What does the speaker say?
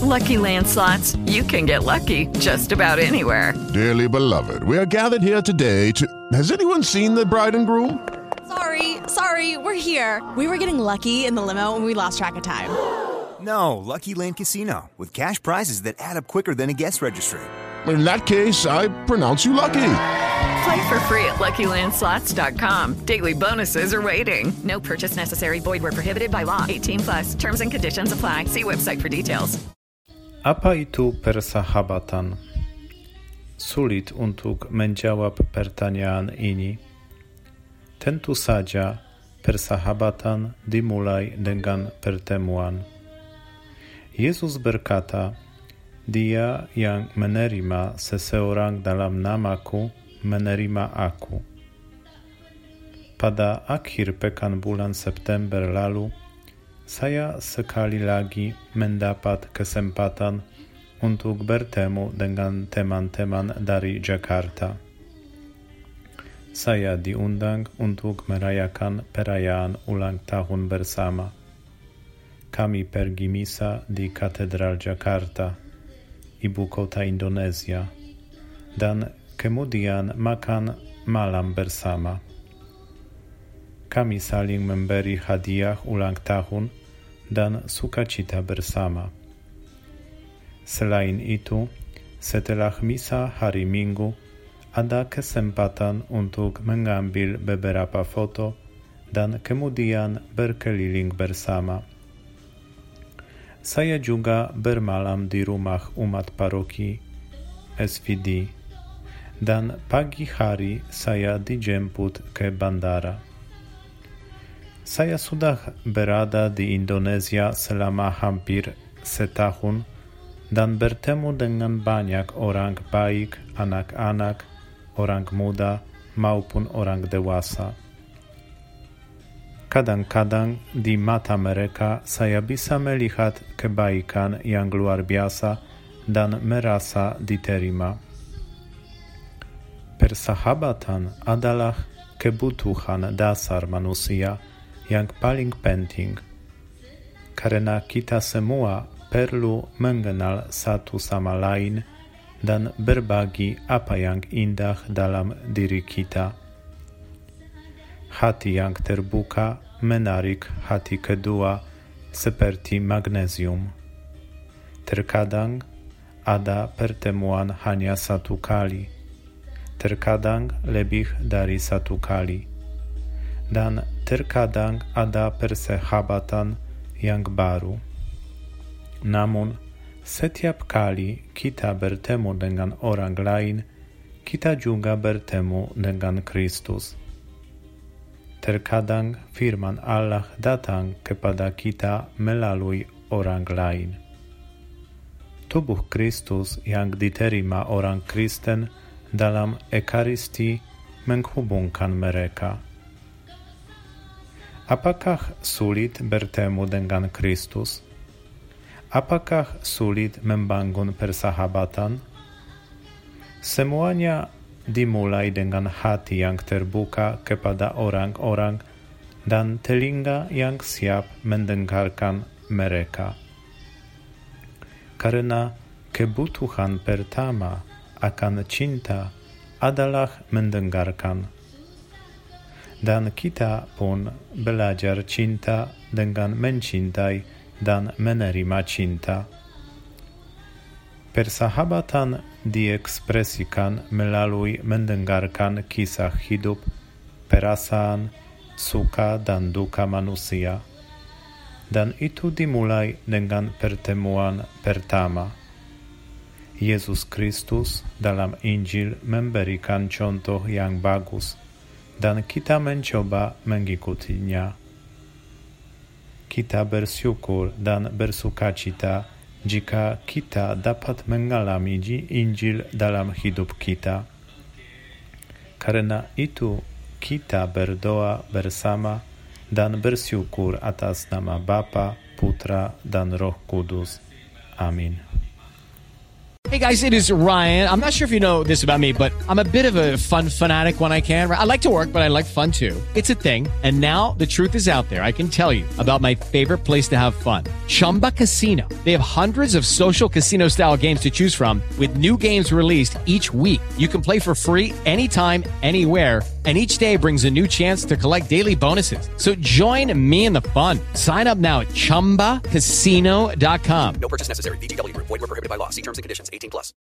Lucky Land Slots, you can get lucky just about anywhere. Dearly beloved, we are gathered here today to... Has anyone seen the bride and groom? Sorry, we're here. We were getting lucky in the limo and we lost track of time. No, Lucky Land Casino, with cash prizes that add up quicker than a guest registry. In that case, I pronounce you lucky. Play for free at LuckyLandSlots.com. Daily bonuses are waiting. No purchase necessary. Void where prohibited by law. 18+. Terms and conditions apply. See website for details. Apaitu persahabatan. Sulit untuk menjawab pertanyaan ini. Tentu saja persahabatan dimulai dengan pertemuan. Yesus berkata, Dia yang menerima seseorang dalam namaku, menerima aku. Pada akhir pekan bulan September lalu, saya sekali lagi mendapat kesempatan untuk bertemu dengan teman-teman dari Jakarta. Saya diundang untuk merayakan perayaan ulang tahun bersama. Kami pergi misa di Katedral Jakarta, ibu kota Indonesia, dan kemudian makan malam bersama. Kami saling memberi hadiah ulang tahun dan sukacita bersama. Selain itu, setelah misa hari Minggu, ada kesempatan untuk mengambil beberapa foto dan kemudian berkeliling bersama. Saya juga bermalam di rumah umat paroki SVD dan pagi hari saya dijemput ke bandara. Saya sudah berada di Indonesia selama hampir setahun dan bertemu dengan banyak orang baik, anak-anak, orang muda maupun orang dewasa. Kadang-kadang di mata mereka saya bisa melihat kebaikan yang luar biasa dan merasa diterima. Persahabatan adalah kebutuhan dasar manusia yang paling penting, karena kita semua perlu mengenal satu sama lain dan berbagi apa yang indah dalam diri kita. Hati yang terbuka menarik hati kedua seperti magnesium. Terkadang ada pertemuan hanya satu kali, terkadang lebih dari satu kali, dan terkadang ada persahabatan yang baru. Namun, setiap kali kita bertemu dengan orang lain, kita juga bertemu dengan Kristus. Terkadang firman Allah datang kepada kita melalui orang lain. Tubuh Kristus yang diterima orang Kristen dalam Ekaristi menghubungkan mereka. Apakah sulit bertemu dengan Kristus? Apakah sulit membangun persahabatan? Semuanya dimulai dengan hati yang terbuka kepada orang-orang dan telinga yang siap mendengarkan mereka. Karena kebutuhan pertama akan cinta adalah mendengarkan. Dan kita pun belajar cinta dengan mencintai dan menerima cinta. Persahabatan diekspresikan melalui mendengarkan kisah hidup, perasaan, suka dan duka manusia. Dan itu dimulai dengan pertemuan pertama. Yesus Kristus dalam Injil memberikan contoh yang bagus, dan kita mencoba mengikutinya. Kita bersyukur dan bersukacita jika kita dapat mengalami Injil dalam hidup kita. Karena itu kita berdoa bersama dan bersyukur atas nama Bapa, Putra dan Roh Kudus. Amin. Hey guys, it is Ryan. I'm not sure if you know this about me, but I'm a bit of a fun fanatic when I can. I like to work, but I like fun too. It's a thing. And now the truth is out there. I can tell you about my favorite place to have fun. Chumba Casino. They have hundreds of social casino style games to choose from with new games released each week. You can play for free anytime, anywhere. And each day brings a new chance to collect daily bonuses. So join me in the fun. Sign up now at ChumbaCasino.com. No purchase necessary. VGW Group. Void where prohibited by law. See terms and conditions. 18+.